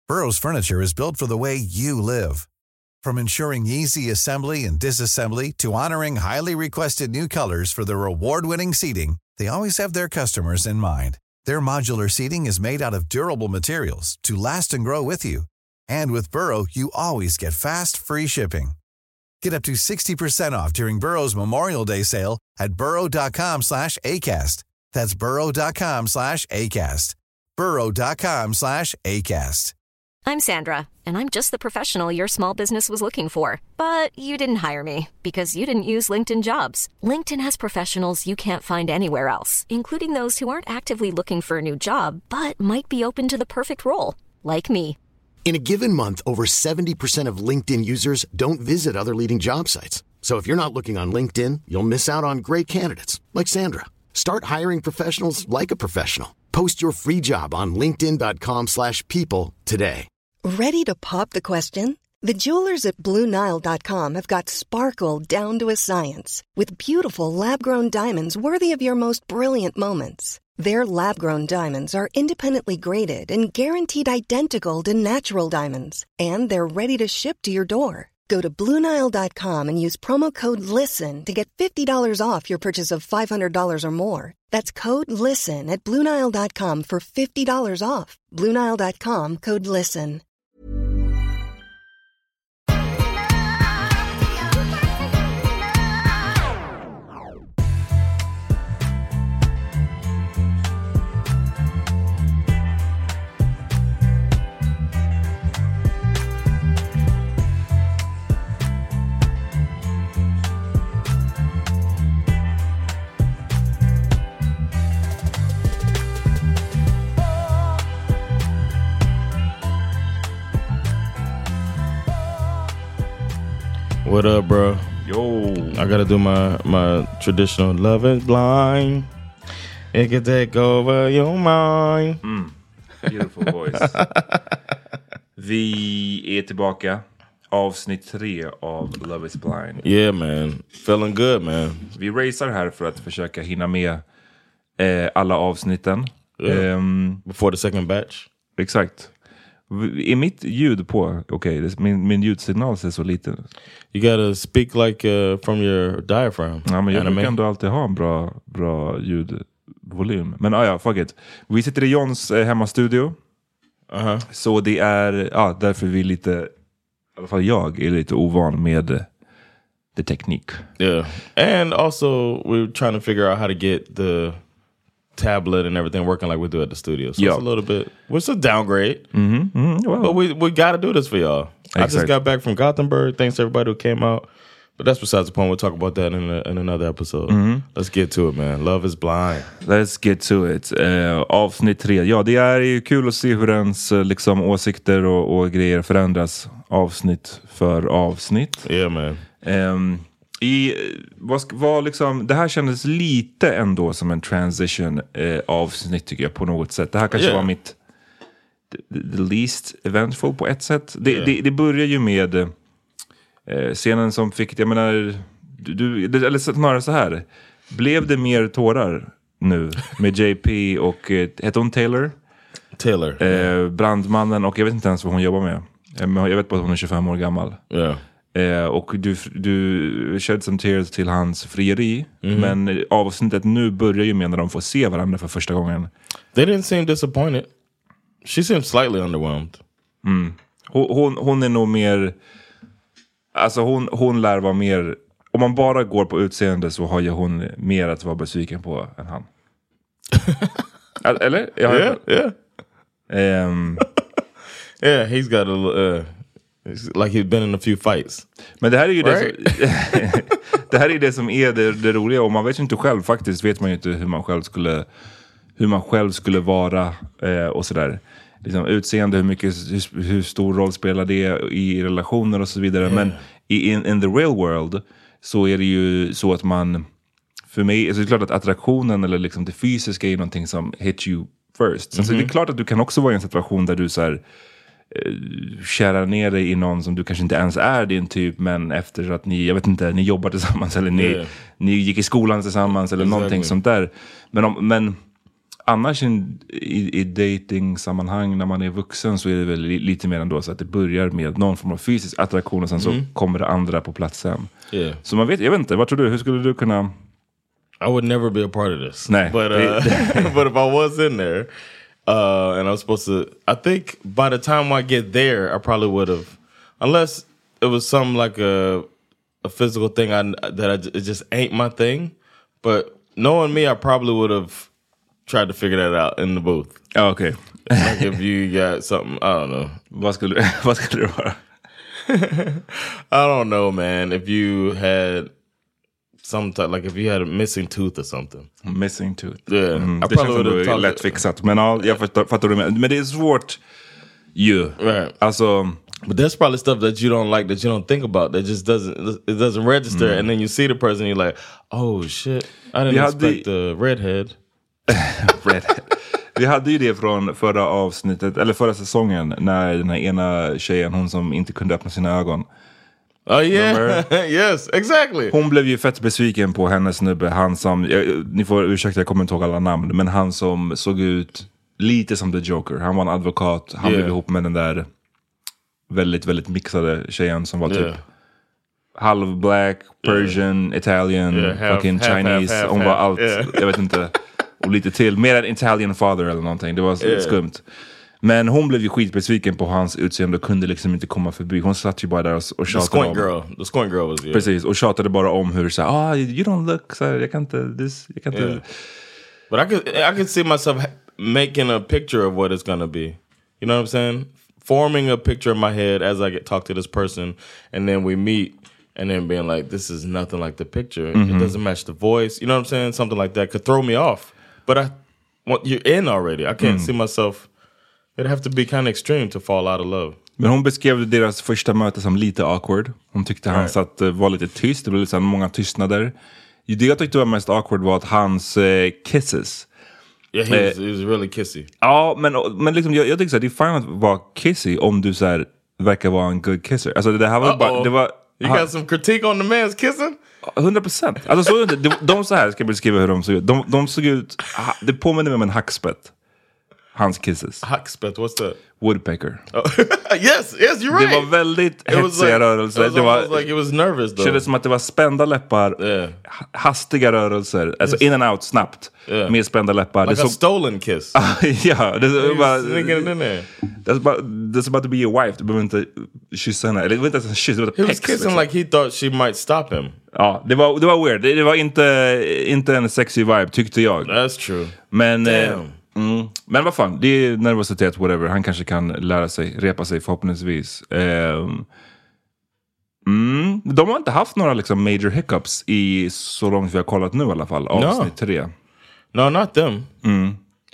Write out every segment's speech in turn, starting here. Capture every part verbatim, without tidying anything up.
Burrow's furniture is built for the way you live. From ensuring easy assembly and disassembly to honoring highly requested new colors for their award-winning seating, they always have their customers in mind. Their modular seating is made out of durable materials to last and grow with you. And with Burrow, you always get fast, free shipping. Get up to sixty percent off during Burrow's Memorial Day sale at burrow.com slash ACAST. That's burrow.com slash ACAST. burrow.com slash ACAST. I'm Sandra, and I'm just the professional your small business was looking for. But you didn't hire me because you didn't use LinkedIn Jobs. LinkedIn has professionals you can't find anywhere else, including those who aren't actively looking for a new job, but might be open to the perfect role, like me. In a given month, over seventy percent of LinkedIn users don't visit other leading job sites. So if you're not looking on LinkedIn, you'll miss out on great candidates like Sandra. Start hiring professionals like a professional. Post your free job on linkedin.com slash people today. Ready to pop the question? The jewelers at Blue Nile dot com have got sparkle down to a science with beautiful lab-grown diamonds worthy of your most brilliant moments. Their lab-grown diamonds are independently graded and guaranteed identical to natural diamonds. And they're ready to ship to your door. Go to Blue Nile dot com and use promo code LISTEN to get fifty dollars off your purchase of five hundred dollars or more. That's code LISTEN at Blue Nile dot com for fifty dollars off. Blue Nile dot com, code LISTEN. What up, bro? Yo. I gotta do my, my traditional love is blind. It can take over your mind. Mm. Beautiful voice. Vi är tillbaka. Avsnitt tre av Love is blind. Yeah, man. Feeling good, man. Vi racear här för att försöka hinna med eh, alla avsnitten. Yeah. Um, Before the second batch. Exakt. Är mitt ljud på? Okej, okay, min, min ljudsignal ser så liten. You gotta speak like uh, from your diaphragm. Ja, men jag Anime. brukar ändå alltid ha en bra, bra ljudvolym. Men ah, ja, fuck it. Vi sitter i Johns eh, hemmastudio. Uh-huh. Så det är ja, därför vi är lite, i alla fall jag är lite ovan med uh, the teknik. Yeah. And also we're trying to figure out how to get the tablet and everything working like we do at the studio. So Yo. it's a little bit, it's a downgrade. Mm-hmm. Mm-hmm. Well, but we we got to do this for y'all. Exactly. I just got back from Gothenburg. Thanks to everybody who came out. But that's besides the point. We'll talk about that in, a, in another episode. Mm-hmm. Let's get to it, man. Love is blind. Let's get to it. Uh, avsnitt tre. Ja, det är ju kul att se hur ens liksom, åsikter och, och grejer förändras avsnitt för avsnitt. Yeah, man. Um, i, vad, vad liksom, det här kändes lite ändå som en transition uh, avsnitt tycker jag på något sätt. Det här kanske Yeah. var mitt the, the least eventful på ett sätt. Det, Yeah. det, det börjar ju med uh, scenen som fick, jag menar, du, du, eller snarare så här. Blev det mer tårar nu med J P och uh, hette hon Taylor? Taylor. Uh, brandmannen, och jag vet inte ens vad hon jobbar med. Jag vet bara att hon är tjugofem år gammal. Yeah. Eh, och du, du shed some tears till hans frieri. Mm-hmm. Men avsnittet nu börjar ju med när de får se varandra för första gången. They didn't seem disappointed. She seemed slightly underwhelmed. Mm. Hon, hon, hon är nog mer... Alltså hon, hon lär vara mer... Om man bara går på utseende så har ju hon mer att vara besviken på än han. Eller? Jag Yeah, yeah. Um, yeah, he's got a... Uh, like he's been in a few fights. Men det här är ju right? det som, det här är det som är det, det roliga. Och man vet ju inte själv faktiskt. Vet man ju inte hur man själv skulle hur man själv skulle vara eh, och sådär. Liksom, utseende, hur mycket hur, hur stor roll spelar det i relationer och så vidare. Yeah. Men i, in, in the real world så är det ju så att man, för mig, alltså det är klart att attraktionen eller liksom det fysiska är någonting som hits you first. Mm-hmm. Så det är klart att du kan också vara i en situation där du så här kärar ner dig i någon som du kanske inte ens är din typ, men efter att ni, jag vet inte, ni jobbar tillsammans eller ni, yeah. ni gick i skolan tillsammans eller exactly. någonting sånt där. Men, om, men annars in, i, i dating-sammanhang när man är vuxen så är det väl li, lite mer ändå så att det börjar med någon form av fysisk attraktion och sen mm. så kommer det andra på platsen. Yeah. Så man vet, jag vet inte, vad tror du? Hur skulle du kunna... I would never be a part of this. Nej. But, uh, but if I was in there uh, and I was supposed to... I think by the time I get there, I probably would have... Unless it was some like a, a physical thing I, that I, it just ain't my thing. But knowing me, I probably would have tried to figure that out in the booth. Oh, okay. Like if you got something, I don't know. Vad skulle, vad skulle det vara? I don't know, man. If you had... Some type, like if you had a missing tooth or something. Missing tooth. Yeah. Mm, det känns som det är lätt fixat. Men ja, jag fattar, fattar du med. Men det är svårt ju. Right. Alltså... But there's probably stuff that you don't like, that you don't think about, that just doesn't, it doesn't register. Mm. And then you see the person and you're like, oh shit, I didn't Vi expect the redhead. Redhead. Vi hade ju det från förra avsnittet, eller förra säsongen, när den här ena tjejen, hon som inte kunde öppna sina ögon. Oh yeah, yes, exactly. Hon blev ju fett besviken på hennes snubbe, han som, jag, ni får ursäkta, jag kommer inte ihåg alla namn, men han som såg ut lite som The Joker. Han var en advokat, han yeah. blev ihop med den där väldigt, väldigt mixade tjejen som var typ yeah. halv black, Persian, yeah. Italian, yeah, half, fucking half, Chinese. Half, half, hon var half, allt, yeah. jag vet inte, och lite till. Mer en Italian father eller någonting, det var yeah. skumt. Men hon blev ju skitbesviken på hans utseende och kunde liksom inte komma förbi. Hon satt ju bara där och, och tjatade om. Girl. The squint girl was, yeah. Precis, och tjatade bara om hur så ah, you don't look, så jag kan inte, this, jag kan inte. Yeah. But I could, I could see myself making a picture of what it's gonna be. You know what I'm saying? Forming a picture in my head as I get talk to this person, and then we meet, and then being like, this is nothing like the picture. Mm-hmm. It doesn't match the voice. You know what I'm saying? Something like that could throw me off. But I, well, you're in already. I can't mm. see myself. It'd have to be kind of extreme to fall out of love. Men hon beskrev deras första möte som lite awkward. Hon tyckte right. han satt, var lite tyst. Det blev lite många tystnader. Det jag tyckte var mest awkward var att hans eh, kisses. Yeah, he was, he was really kissy. Ja, men, men liksom, jag, jag tycker så här, det är fine att vara kissy om du så här, verkar vara en good kisser. Alltså det här var bara... Det var, you got some critique on the man's kissing? hundra procent. Alltså så, de, de så här ska jag beskriva hur de såg ut. De, de såg ut... Det påminner mig om en hackspett. Hans kisses. Hackspett, what's that? Woodpecker. Oh. yes, yes, you're right. Det var väldigt hetsiga like, rörelser. It was, det var like it was nervous though. Kändes som att det var spända läppar, yeah. hastiga rörelser, alltså yes. in and out snabbt, yeah. med spända läppar. Like det a så... stolen kiss. ja, det är bara... That's about, that's about to be your wife. Du behöver inte kyssa henne. Eller det var inte ens en kyss, det var He pex, was kissing liksom. like he thought she might stop him. Ja, det var, det var weird. Det, det var inte, inte en sexy vibe, tyckte jag. That's true. Men... Eh, Mm. Men vad fan, det är nervositet, whatever. Han kanske kan lära sig, repa sig förhoppningsvis. Um, mm. De har inte haft några liksom major hiccups i så långt vi har kollat nu i alla fall. Avsnitt no. tre. No, not them. Mm.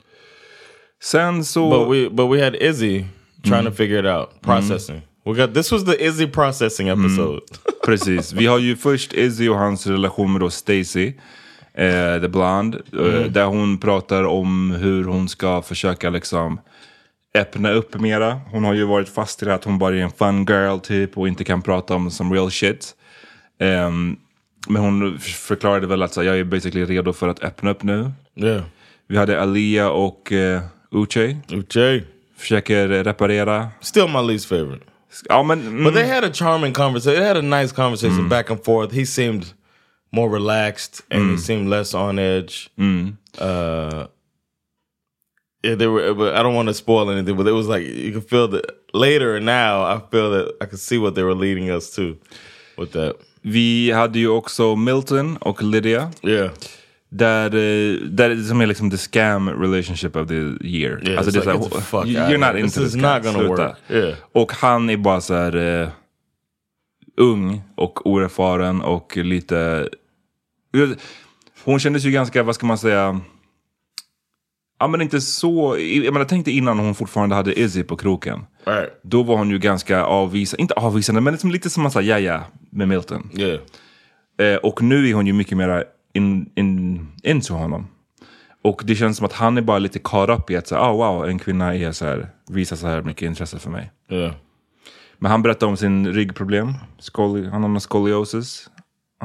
Sen så... But we, but we had Izzy trying mm. to figure it out. Processing. Mm. We got, this was the Izzy processing episode. Mm. Precis. Vi har ju först Izzy och hans relation med då Stacy. Uh, The Blonde, uh, mm. där hon pratar om hur hon ska försöka liksom öppna upp mera. Hon har ju varit fast i det att hon bara är en fun girl typ och inte kan prata om some real shit. Um, men hon förklarade väl att så, jag är basically redo för att öppna upp nu. Yeah. Vi hade Aaliyah och uh, Uche. Uche försöker reparera. Still my least favorite. Ja, men, mm. But they had a charming conversation. They had a nice conversation mm. back and forth. He seemed more relaxed and mm. he seemed less on edge. Mm. Uh, yeah, they were. But I don't want to spoil anything. But it was like you could feel that later. Now I feel that I could see what they were leading us to with that. Vi hade ju också Milton och Lydia. Yeah. Där, där är som är liksom the scam relationship of the year. Yeah, alltså det är like, så här, you're not into this, not gonna work. Yeah. Och han är bara så här uh, ung och oerfaren och lite... Hon kändes ju ganska, vad ska man säga... Ja, men inte så... Jag menar, tänkte innan hon fortfarande hade Izzy på kroken. Right. Då var hon ju ganska avvisande. Inte avvisande, men liksom lite som man sa, ja, ja, med Milton. Yeah. Eh, och nu är hon ju mycket mer in, in, into honom. Och det känns som att han är bara lite caught up i att säga, oh, wow, en kvinna är så här, visar så här mycket intresse för mig. Yeah. Men han berättade om sin ryggproblem. Scoli- han har någon scoliosis. Hans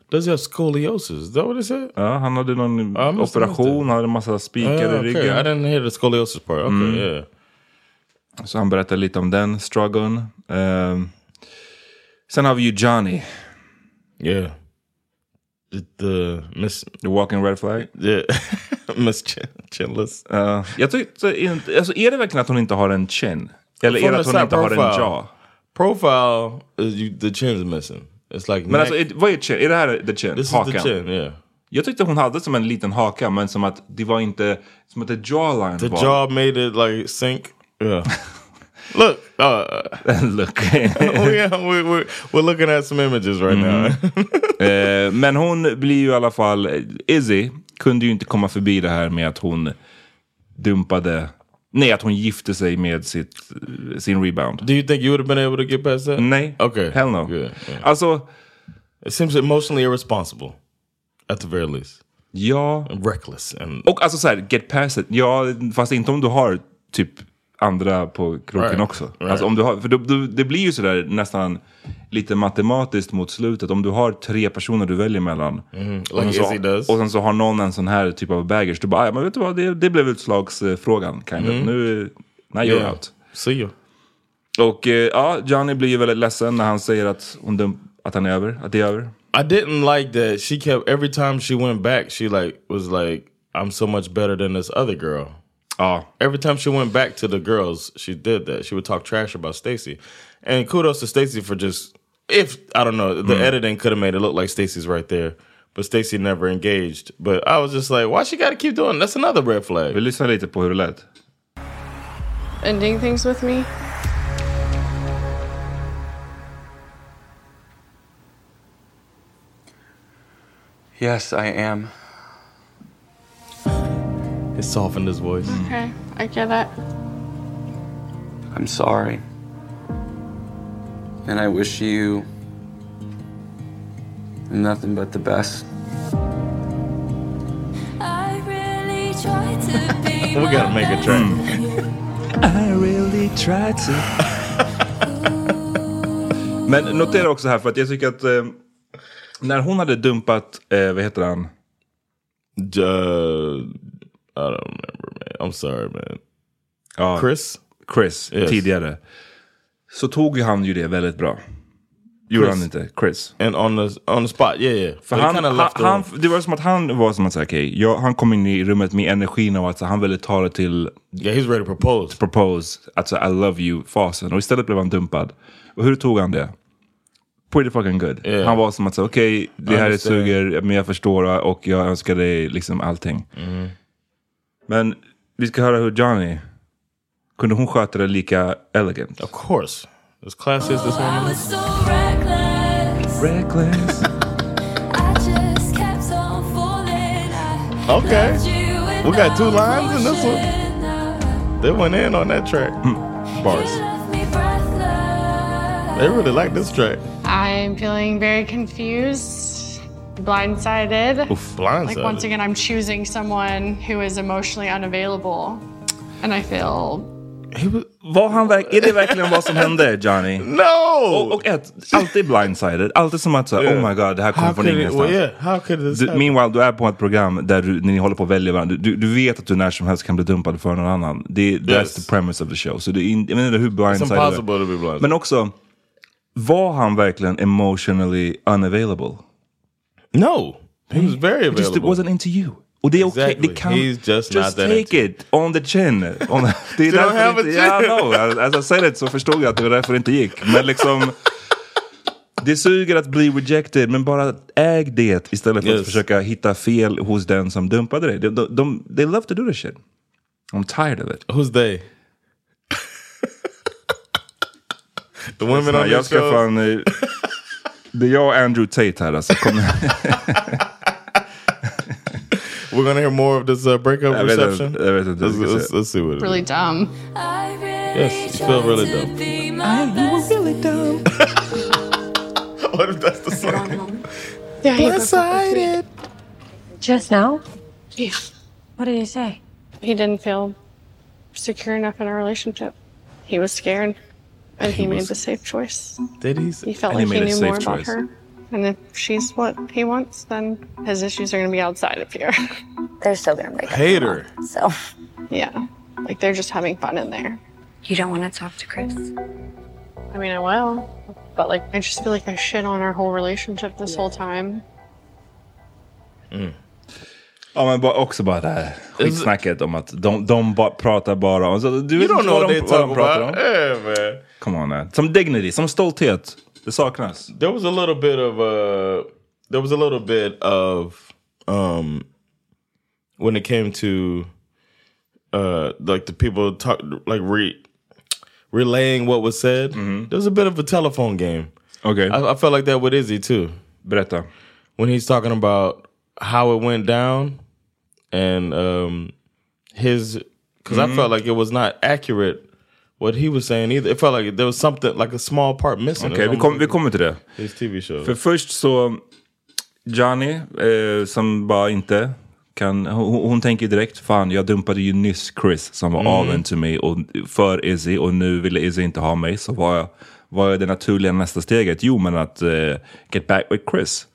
Does he have scoliosis? Is that what it said? Ja, han hade någon Ja, operation, han hade en massa spikar Yeah, i okay. ryggen. I didn't hear the scoliosis part. Okay, Mm. yeah. Så han berättar lite om den strugglen. Um, sen har vi ju Johnny. Yeah. The, the Miss... The walking red flag. Yeah. Miss Chin, Chinless. Uh, jag tyckte inte... Alltså, är det verkligen att hon inte har en chin? Eller är det att hon inte profile. har en jaw? Profile, is you, the chin's missing. It's like... Men alltså, är, vad är chin? Är det här the chin? This Hakan? is the chin, yeah. Jag tyckte hon hade som en liten haka, men som att det var inte... Som att the jawline The var... jaw made it like sink. Yeah. Look. Uh, Look. oh, yeah, we, we're, we're looking at some images right Mm. now. eh, men hon blir ju i alla fall... Izzy kunde ju inte komma förbi det här med att hon dumpade... Nej, att hon gifte sig med sitt, sin rebound. Do you think you would have been able to get past that? Nej. Okay. Hell no. Good. Yeah. Alltså... It seems emotionally irresponsible. At the very least. Ja. And reckless. And och alltså så här, get past it. Ja, fast inte om du har typ andra på kroken right. också. Right. Alltså om du har, för då, då, det blir ju sådär nästan lite matematiskt mot slutet. Om du har tre personer du väljer mellan. Mm. Och, Like sen så, Izzy does. och sen så har någon en sån här typ av baggage. Du bara, ja men vet du vad, det, det blev utslagsfrågan. Kind of. Mm. Nu, now you're Yeah. out. See you. Och eh, ja, Johnny blir ju väldigt ledsen när han säger att, hon dum, att han är över. Att det är över. I didn't like that she kept, every time she went back, she like was like, I'm so much better than this other girl. Ja. Every time she went back to the girls, she did that. She would talk trash about Stacey. And kudos to Stacey for just, if, I don't know, the Mm. editing could have made it look like Stacey's right there. But Stacey never engaged. But I was just like, why she got to keep doing? That's another red flag. Vi lyssnar lite på hur det lät. Ending things with me? Yes, I am. It softened his voice. Okay, I get it. I'm sorry. And I wish you nothing but the best. I really tried to be We gotta make a track. I really tried to. Men notera också här, för att jag tycker att eh, när hon hade dumpat, eh, vad heter han? Uh, I don't remember, man. I'm sorry, man. Ja, Chris? Chris, Yes. tidigare. Så tog ju han ju det väldigt bra. Gjorde Chris. han inte? Chris. And on the, on the spot, yeah, yeah. För But he han, kinda han, left the han, room. det var som att han var som att säga, okej, okay, han kom in i rummet med energin av att så, han ville ta det till... Yeah, he's ready to propose. Propose, alltså I love you-fasen. Och istället blev han dumpad. Och hur tog han det? Pretty fucking good. Yeah. Han var som att säga, okej, okay, det I här är understand. suger, men jag förstår och jag önskar dig liksom allting. Mm. Men vi ska höra hur Johnny, kunde hon sköta det lika elegant? Of course. As classy as this I woman was is. so reckless. Reckless. I just kept on falling. I Okay. loved you We got two without lines in this one. question. They went in on that track. Bars. You left me breathless. They really like this track. I'm feeling very confused, blindsided. Oof, blindsided. Like, once again, I'm choosing someone who is emotionally unavailable. And I feel... He was, Var han verk- är det verkligen vad som hände, Johnny? no! Och, och ett, alltid blindsided. Alltid som att säga, Yeah. oh my god, det här kommer How från could it, ingenstans. well, yeah, how could this Du, happen? meanwhile, du är på ett program där du, när ni håller på att välja varandra. Du, du vet att du när som helst kan bli dumpad för någon annan. Det, that's Yes. the premise of the show. Så det är in, jag vet inte hur It's blindsided impossible to be blind. Men också, var han verkligen emotionally unavailable? No, he was very It just it available. wasn't into you. Och det är okej, Exactly. det kan... He's just just not that take into it on the chin. On the, det är You don't därför have det a inte, yeah, I chin. know. As, as I said it så förstod jag att det var därför det inte gick. Men liksom... Det suger att bli rejected, men bara äg det istället för Yes. att försöka hitta fel hos den som dumpade dig. De, de, de, they love to do this shit. I'm tired of it. Who's they? The women on jag your ska show? fan... eh, Det är jag och Andrew Tate här alltså. Kom, We're gonna hear more of this uh, breakup jag vet reception. inte, jag vet inte. Let's, let's, let's see what it is. Really dumb. I really Yes, you feel tried really to dumb. be my best. really dumb. What if that's the song? Yeah, he decided. Just now? Yeah. What did he say? He didn't feel secure enough in our relationship. He was scared. And he, He made was- the safe choice. Did he? He felt And he like he made a knew safe more about choice. her. And if she's what he wants, then his issues are going to be outside of here. They're still gonna break up. Hater. So Yeah. Like they're just having fun in there. you don't want to talk to Chris? I mean, I will. But like, I just feel like I shit on our whole relationship this whole time. Ja, men bara, också bara det här skitsnacket om att de, de ba, pratar bara om... Så, du You vet don't inte know vad what de, they vad de talk pratar about. om? Yeah, man. Come on, man. Som dignity, som stolthet. Det saknas. There was a little bit of uh there was a little bit of um when it came to uh like the people talk like re relaying what was said. Mm-hmm. There was a bit of a telephone game. Okay. I, I felt like that with Izzy too. Berätta. When he's talking about how it went down and um his because mm-hmm. I felt like it was not accurate what he was saying either. It felt like there was something like a small part missing. Okej, okay, vi, kom, vi kommer till det. His T V show. För först så Johnny eh, som bara inte kan, hon, hon tänker direkt, fan jag dumpade ju nyss Chris som var mm. avvänd till mig och för Izzy och nu ville Izzy inte ha mig, så var jag, vad är det naturliga nästa steget? Jo, men att uh, get back with Chris.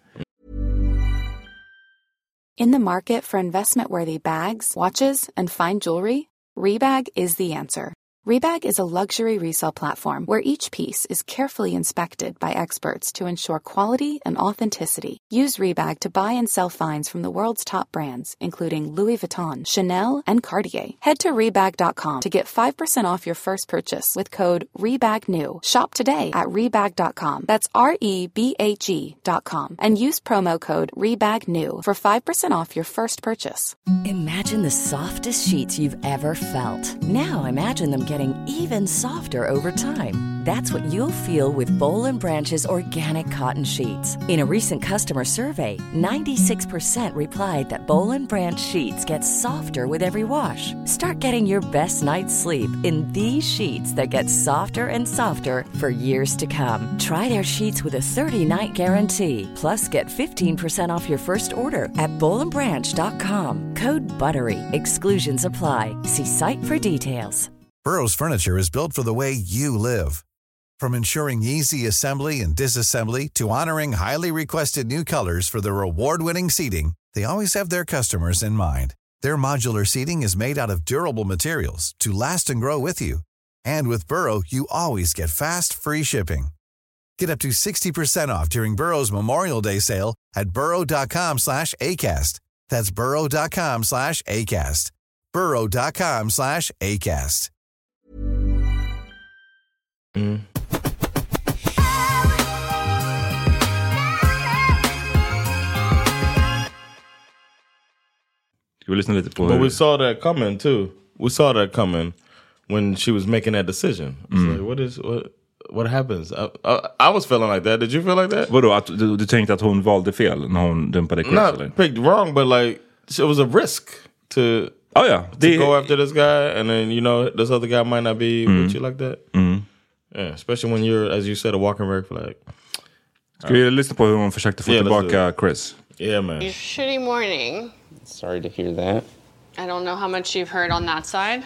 In the market for investment-worthy bags, watches, and fine jewelry, Rebag is the answer. Rebag is a luxury resale platform where each piece is carefully inspected by experts to ensure quality and authenticity. Use Rebag to buy and sell finds from the world's top brands, including Louis Vuitton, Chanel, and Cartier. Head to Rebag dot com to get five percent off your first purchase with code REBAGNEW. Shop today at Rebag dot com. That's R E B A G dot com. And use promo code REBAGNEW for five percent off your first purchase. Imagine the softest sheets you've ever felt. Now imagine them getting even softer over time. That's what you'll feel with Boll and Branch's organic cotton sheets. In a recent customer survey, ninety-six percent replied that Boll and Branch sheets get softer with every wash. Start getting your best night's sleep in these sheets that get softer and softer for years to come. Try their sheets with a thirty-night guarantee. Plus, get fifteen percent off your first order at boll and branch dot com. Code BUTTERY. Exclusions apply. See site for details. Burrow's furniture is built for the way you live. From ensuring easy assembly and disassembly to honoring highly requested new colors for their award-winning seating, they always have their customers in mind. Their modular seating is made out of durable materials to last and grow with you. And with Burrow, you always get fast, free shipping. Get up to sixty percent off during Burrow's Memorial Day sale at burrow dot com slash ACAST. That's burrow dot com slash ACAST. burrow dot com slash ACAST. Mm. Ska vi lyssna lite på But hur... we saw that coming too. We saw that coming when she was making that decision. It's Mm. like, what is what what happens? I, I, I was feeling like that. Did you feel like that? Vadå, att du, du tänkte att hon valde fel när hon dumpade Chris? Not eller? picked wrong, but like it was a risk to oh, yeah. to Det... go after this guy, and then you know this other guy might not be Mm. with you like that. Mm. Yeah, especially when you're, as you said, a walking red flag. Ska vi lyssna på hur hon försökte få Yeah, let's tillbaka Chris? Yeah, man. Shitty morning. Sorry to hear that. I don't know how much you've heard on that side.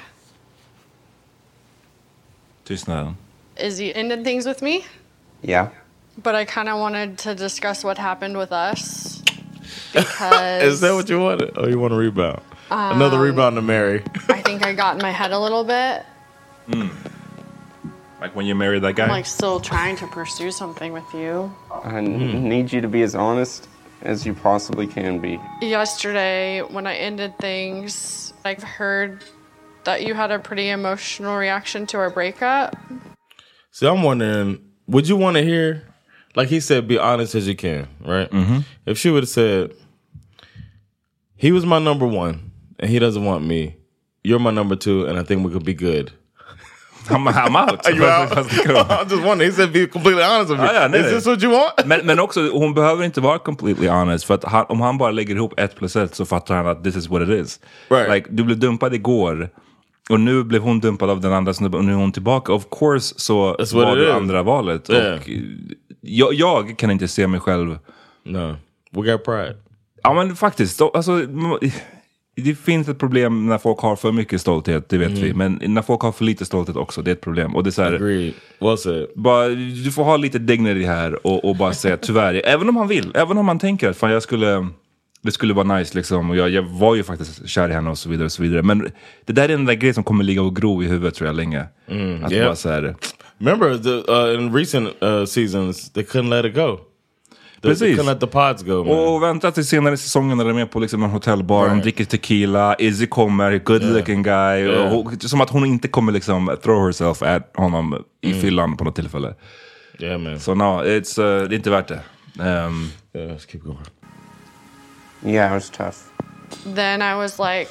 Tystnad. Is he ended things with me? Yeah. But I kind of wanted to discuss what happened with us. Because Is that what you wanted? Oh, you want a rebound? Um, Another rebound to Mary. I think I got in my head a little bit. Mm. Like when you married that guy? I'm like still trying to pursue something with you. I n- need you to be as honest as you possibly can be. Yesterday, when I ended things, I've heard that you had a pretty emotional reaction to our breakup. So I'm wondering, would you want to hear, like he said, be honest as you can, right? Mm-hmm. If she would have said, he was my number one, and he doesn't want me. You're my number two, and I think we could be good. I'm, I'm out. Are you out? I'm just wondering. He said be completely honest with me. Ah, ja, nej, Is nej. this what you want? Men, men också, hon behöver inte vara completely honest. För att han, om han bara lägger ihop ett plus ett så fattar han att this is what it is. Right. Like, du blev dumpad igår. Och nu blev hon dumpad av den andra snubben. Och nu är hon tillbaka. Of course så That's what var it du is. andra valet. Yeah. Och jag, jag kan inte se mig själv. No. We got pride. Ja men faktiskt. Då, alltså, det finns ett problem när folk har för mycket stolthet, det vet Mm. vi. Men när folk har för lite stolthet också, det är ett problem. Och det är så här, Agreed. What's it? bara, du får ha lite dignity här och, och bara säga tyvärr. Även om han vill, även om man tänker att fan, jag skulle, det skulle vara nice liksom. Och jag, jag var ju faktiskt kär i henne och så vidare och så vidare. Men det där är den där grejen som kommer ligga och gro i huvudet tror jag länge. Mm, att yeah. bara så här, remember the, uh, in recent uh, seasons they couldn't let it go. They, they precis. couldn't let the pods go. Man. Och vänta till senare i säsongen när de är med på liksom en hotellbar, Right. de dricker tequila, Izzy kommer, good Yeah. looking guy. Yeah. Och, som att hon inte kommer liksom throw herself at honom i Mm. fyllan på något tillfälle. Yeah, man. Så so, no, it's, uh, det är inte värt det. Um, yeah, let's keep going. Yeah, it was tough. Then I was like,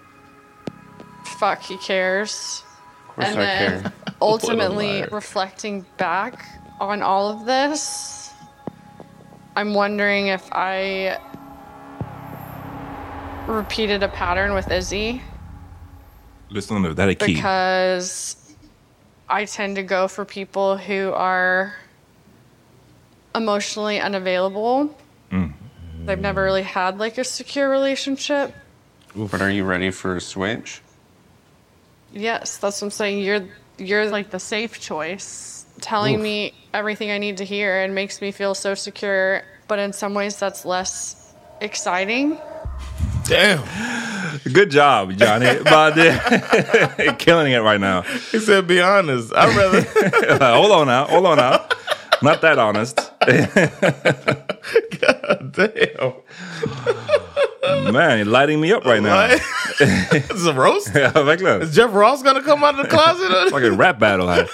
fuck, he cares. Of course And I then care. ultimately liar. reflecting back on all of this, I'm wondering if I repeated a pattern with Izzy lyssna nu, det här är key. because I tend to go for people who are emotionally unavailable. Mm. They've never really had like a secure relationship. But are you ready for a switch? Yes, that's what I'm saying. You're you're like the safe choice, telling Oof. me everything I need to hear and makes me feel so secure. But in some ways, that's less exciting. Damn. Good job, Johnny. But uh, killing it right now. He said, "Be honest. I'd rather." Hold on now. Hold on now. Not that honest. God damn. Man, you're lighting me up right now. It's a roast? Ja, verkligen. Is Jeff Ross gonna come out of the closet? Like a rap battle här.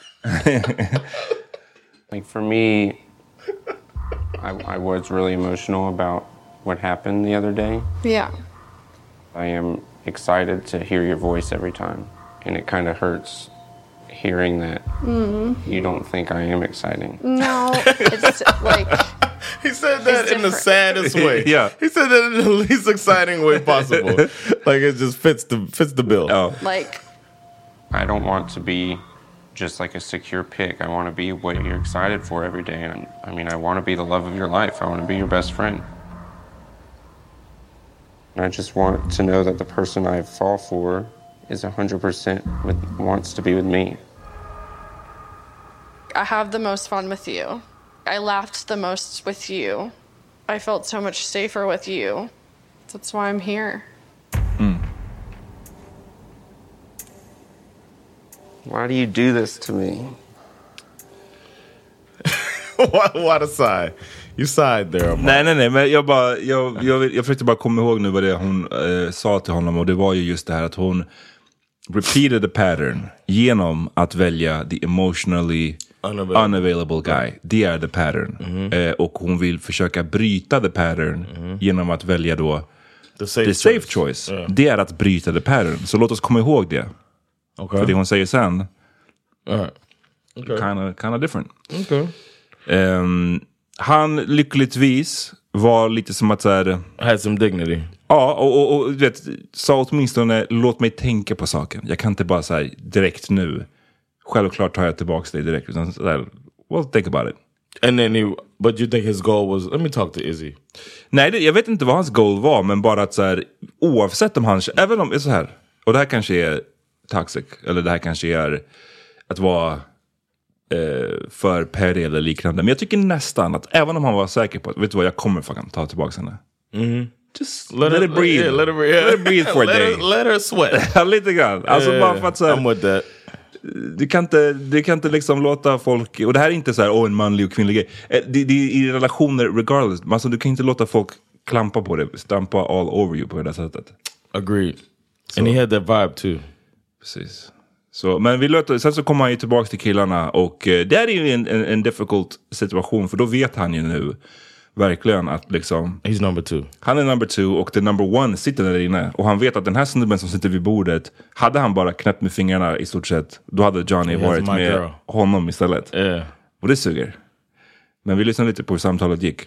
Like for me, I, I was really emotional about what happened the other day. Yeah. I am excited to hear your voice every time. And it kind of hurts hearing that Mm. you don't think I am exciting. No, it's like He said that It's in the different. saddest way. Yeah. He said that in the least exciting way possible. Like it just fits the fits the bill. Oh. like I don't want to be just like a secure pick. I want to be what you're excited for every day. And I mean, I want to be the love of your life. I want to be your best friend. And I just want to know that the person I fall for is one hundred percent with, wants to be with me. I have the most fun with you. I laughed the most with you. I felt so much safer with you. That's why I'm here. Why do you do this to me? What, what a sigh. You sighed there. Mark. Nej, nej, nej, men jag bara, jag, jag, jag försökte bara komma ihåg nu vad det hon eh, sa till honom, och det var ju just det här att hon repeated the pattern genom att välja the emotionally Unavailable, unavailable guy. Det är the pattern. Mm-hmm. Eh, och hon vill försöka bryta the pattern Mm-hmm. genom att välja då The safe the safe choice. choice. Yeah. Det är att bryta the pattern. Så låt oss komma ihåg det. Okay. För det hon säger sen, All right. Okay. kind of kind of different. Okay. Um, han lyckligtvis var lite som att så här, Had some dignity. ja, och, och, och du vet, sa åtminstone låt mig tänka på saken. Jag kan inte bara säga direkt nu. Självklart tar jag tillbaka det direkt. Utan så där, well, think about it. And then he, but you think his goal was, let me talk to Izzy. Nej, det, jag vet inte vad hans goal var, men bara att så här, oavsett om han, även om det är så här, och det här kanske är toxic, eller det här kanske är att vara eh, för petty eller liknande. Men jag tycker nästan att även om han var säker på att, vet du vad, jag kommer fucking ta tillbaka henne. Mm-hmm. Just let, let it breathe. Yeah, let, it, yeah. let it breathe for a let day. Her, let her sweat. Lite grann. Alltså yeah, bara för att så här, I'm with that. Du kan inte, du kan inte liksom låta folk, och det här är inte så här, åh, en manlig och kvinnlig grej. Eh, Det, det är i relationer regardless. Alltså du kan inte låta folk klampa på det, stampa all over you på det där sättet. Agreed. So. And he had that vibe too. Precis. Så, men vi låter, sen så kommer han ju tillbaka till killarna, och eh, det är ju en, en, en difficult situation, för då vet han ju nu verkligen att liksom, he's number two. Han är number two, och the number one sitter där inne, och han vet att den här snubben som sitter vid bordet, hade han bara knäppt med fingrarna i stort sett, då hade Johnny He varit med girl. honom istället. Yeah. Och det suger. Men vi lyssnar lite på hur samtalet gick.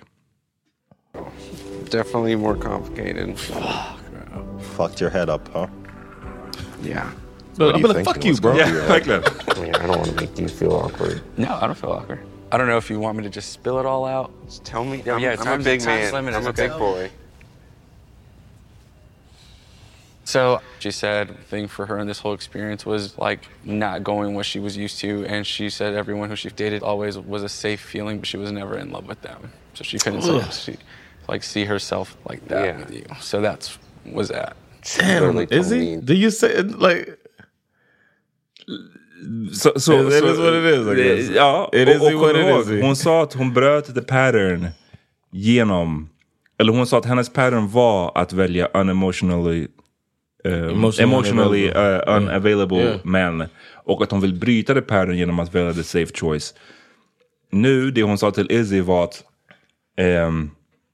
Definitely more complicated. Fucked your head up, huh? Yeah. I'm gonna fuck you, bro. Yeah, verkligen. I mean, I don't want to make you feel awkward. No, I don't feel awkward. I don't know if you want me to just spill it all out. Just tell me. Yeah, I'm, yeah, I'm time's- a big time's man. limited, I'm a okay. big boy. So she said the thing for her in this whole experience was like not going what she was used to, and she said everyone who she dated always was a safe feeling, but she was never in love with them. So she couldn't say, she, like see herself like that Yeah. with you. So that's was that. Damn, is he? Do you say it like? Så, så, It så, is what it is, I guess. Ja, It och, is och what it ihåg, is. hon sa att hon bröt the pattern genom, eller hon sa att hennes pattern var att välja unemotionally um, Emotionally emotionally unavailable. uh, unavailable Yeah. men, och att hon vill bryta the pattern genom att välja the safe choice. Nu, det hon sa till Izzy var att um,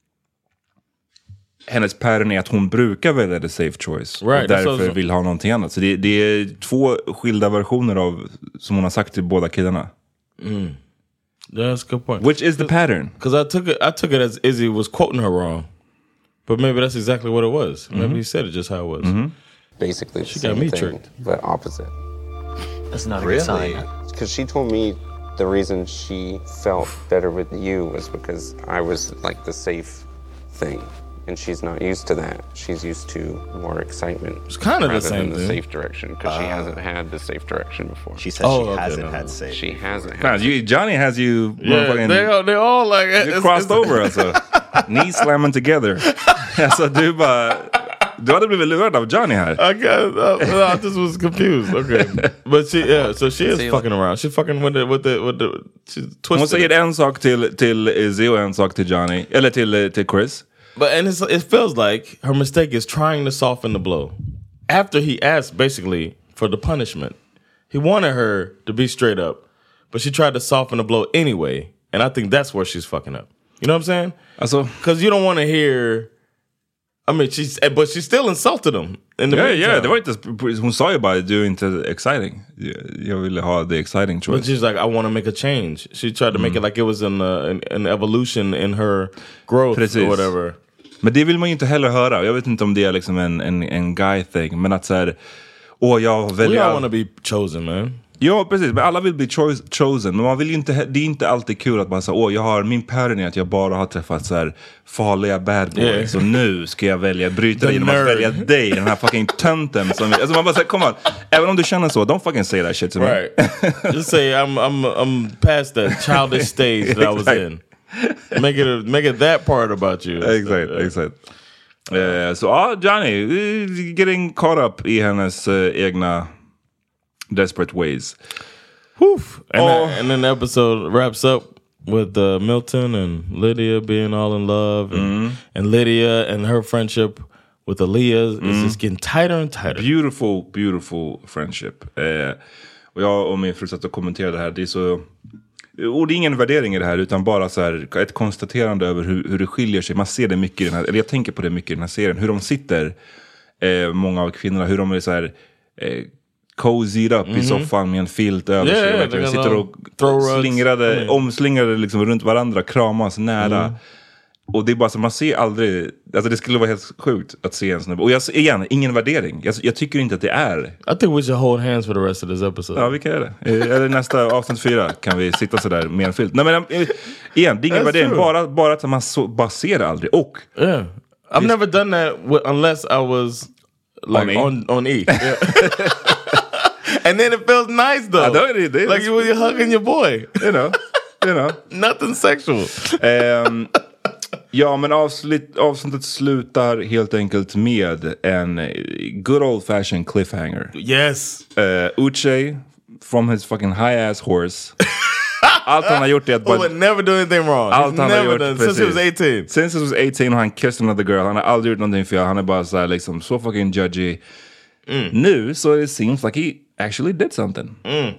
hennes pattern är att hon brukar välja the safe choice. Right, och därför so- so- vill ha någonting annat. Så det, det är två skilda versioner av, som hon har sagt till båda killarna. Mm. That's a good point. Which is the pattern? Because I took it, I took it as Izzy was quoting her wrong, but maybe that's exactly what it was. Mm-hmm. Maybe he said it just how it was. Basically, the She same got me thing, tricked. but opposite. That's not a good sign. Because she told me the reason she felt better with you was because I was like the safe thing, and she's not used to that. She's used to more excitement. It's kind of the rather same than the thing. safe direction, because she Ah. hasn't had the safe direction before. She said Oh, she okay, hasn't no, had no. safe. She hasn't had. Man, you, Johnny has you Yeah, motherfucking they all, they all like you it's- crossed it's- over alltså. Knees slamming together. Alltså du bara, du hade blivit lurad av Johnny här. I got. Uh, I just was confused. Okay, but she, yeah. So she is See, fucking around. She's fucking with the with the with the. She's Hon twisted. säger it. en sak till, till Izzy och en sak till Johnny. Eller till, eh, till Chris. But and it's, it feels like her mistake is trying to soften the blow. After he asked basically for the punishment, he wanted her to be straight up, but she tried to soften the blow anyway. And I think that's where she's fucking up. You know what I'm saying? Alltså, Because you don't want to hear. I mean, she's but she still insulted him in the ja, meantime. ja, det var inte, hon sa ju bara, du är inte exciting. Jag, jag ville ha the exciting But choice. she's like, I want to make a change. She tried to make it like it was an, uh, an an evolution in her growth Precis. or whatever. Men det vill man ju inte heller höra. Jag vet inte om det är liksom en, en, en guy thing. Men att såhär, åh jag We väljer... all want to be chosen, man. Ja, precis. Men alla vill bli choice, chosen. Men man vill ju inte, det är inte alltid kul att man säger, åh jag har, min pattern är att jag bara har träffat så här farliga bad boys. Yeah. Så nu ska jag välja, bryta The det genom nerd. att välja dig, den här fucking tönten. Som, alltså man bara säger, kom on. Även om du känner så, don't fucking say that shit to me. Right. Just say I'm I'm I'm past that childish stage that I was Exactly. in. Make it a, make it that part about you. Exakt, exakt. Eh, så ja, Johnny, eh, getting caught up i hennes eh, egna desperate ways. Woof. And, Oh. that- and then the episode wraps up with uh, Milton and Lydia being all in love, and, and Lydia and her friendship with Aaliyah is just getting tighter and tighter. Beautiful, beautiful friendship. Eh, och jag och min fru satt och kommenterade det här. Det är så... Och det är ingen värdering i det här, utan bara så här, ett konstaterande över hur, hur det skiljer sig. Man ser det mycket i den här, eller jag tänker på det mycket i den här serien. Hur de sitter, eh, många av kvinnorna, hur de är så här... Eh, cozied up i soffan med en filt över Yeah, sig. yeah, Verkligen they sitter got och throw rugs. slingrade, Mm. omslingrade liksom runt varandra, kramas nära. Mm. Och det är bara så, man ser aldrig, alltså det skulle vara helt sjukt att se en snubbe. Och jag, igen, ingen värdering. Jag, jag tycker inte att det är. I think we should hold hands for the rest of this episode. Ja, vi kan göra det. Eh, Eller nästa avsnitt fyra kan vi sitta sådär med en filt. Nej men eh, igen, det är ingen That's värdering. true. Bara, bara att man så, bara ser det aldrig. Och Yeah, I've never done that with, unless I was like On E. on on, E. Yeah. And then it feels nice though. Ja, då är det- det är- like you when you're hugging your boy. you know, you know. Nothing sexual. Ehm, ja, men avslut, avsnittet slutar helt enkelt med en eh, good old fashioned cliffhanger. Yes. Uh, Uche from his fucking high ass horse. Allt han har gjort är att Who would never do anything wrong. Allt He's han har never gjort, done since he was precis. eighteen. Since he was eighteen och han kissed another girl. Han har aldrig gjort någonting fel. Han är bara så här liksom så fucking judgy. Mm. Nu så it seems like he actually did something. Mm.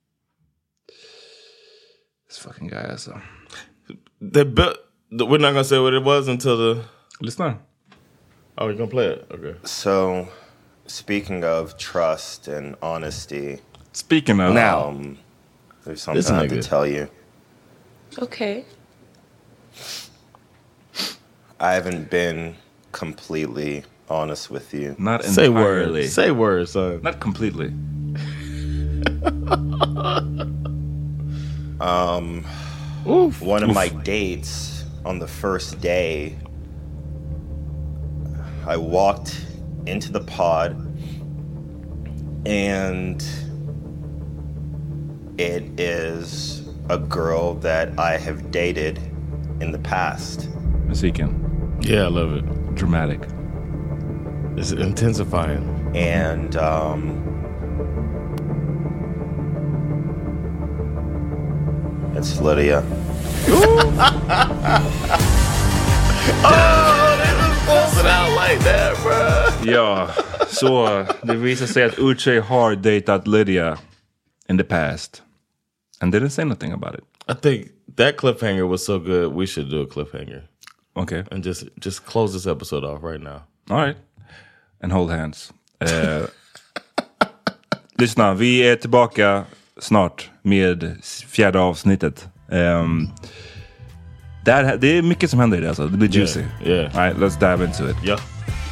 This fucking guy alltså. They built. We're not gonna say what it was until the. Lyssna. Oh, you're gonna play it? Okay. So, speaking of trust and honesty, Speaking of um, there's something This I have nigga. to tell you. Okay. I haven't been completely honest with you. Not Say entirely. words. Say words, son. Not completely. Um, Oof. one of my dates on the first day, I walked into the pod, and it is a girl that I have dated in the past. Musiken. Yeah, I love it. Dramatic. It's intensifying. And um, it's Lydia. Oh, they just close it out like that, bro. Ja, så det visar sig att Uche har datat Lydia in the past and didn't say nothing about it. I think that cliffhanger was so good, we should do a cliffhanger. Okay. And just just close this episode off right now. All right. And hold hands. Uh, lyssna, vi är tillbaka snart med fjärde avsnittet. Um, där, det är mycket som händer i det, alltså. Det blir juicy. Yeah, yeah. All right, let's dive into it. Yeah.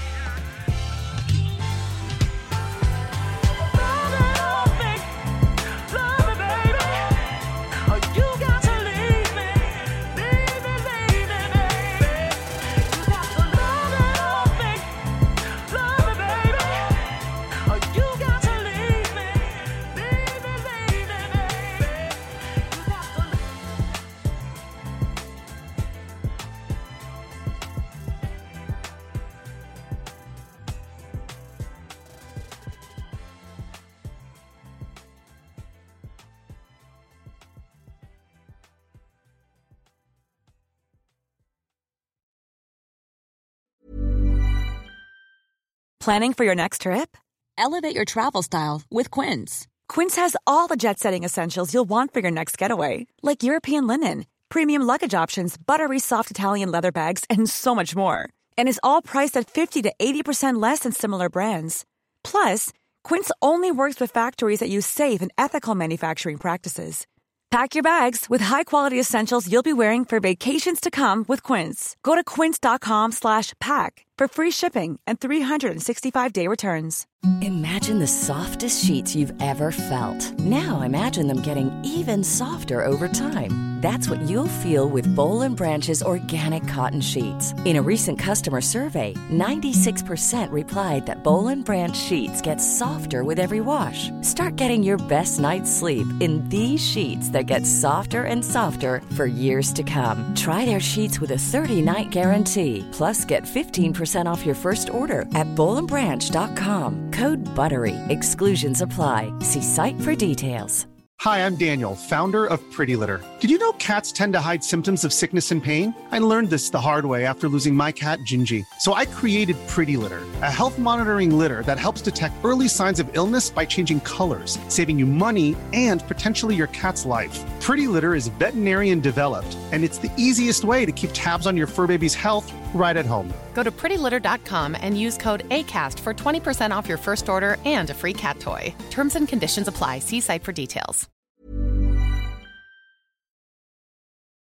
Planning for your next trip? Elevate your travel style with Quince. Quince has all the jet-setting essentials you'll want for your next getaway, like European linen, premium luggage options, buttery soft Italian leather bags, and so much more. And is all priced at fifty to eighty percent less than similar brands. Plus, Quince only works with factories that use safe and ethical manufacturing practices. Pack your bags with high-quality essentials you'll be wearing for vacations to come with Quince. Go to quince.com slash pack for free shipping and three sixty-five day returns. Imagine the softest sheets you've ever felt. Now imagine them getting even softer over time. That's what you'll feel with Boll and Branch's organic cotton sheets. In a recent customer survey, ninety-six percent replied that Boll and Branch sheets get softer with every wash. Start getting your best night's sleep in these sheets that get softer and softer for years to come. Try their sheets with a thirty-night guarantee. Plus, get fifteen percent off your first order at boll and branch dot com. Code BUTTERY. Exclusions apply. See site for details. Hi, I'm Daniel, founder of Pretty Litter. Did you know cats tend to hide symptoms of sickness and pain? I learned this the hard way after losing my cat, Gingy. So I created Pretty Litter, a health monitoring litter that helps detect early signs of illness by changing colors, saving you money and potentially your cat's life. Pretty Litter is veterinarian developed, and it's the easiest way to keep tabs on your fur baby's health right at home. Go to pretty litter dot com and use code ACAST for twenty percent off your first order and a free cat toy. Terms and conditions apply. See site for details.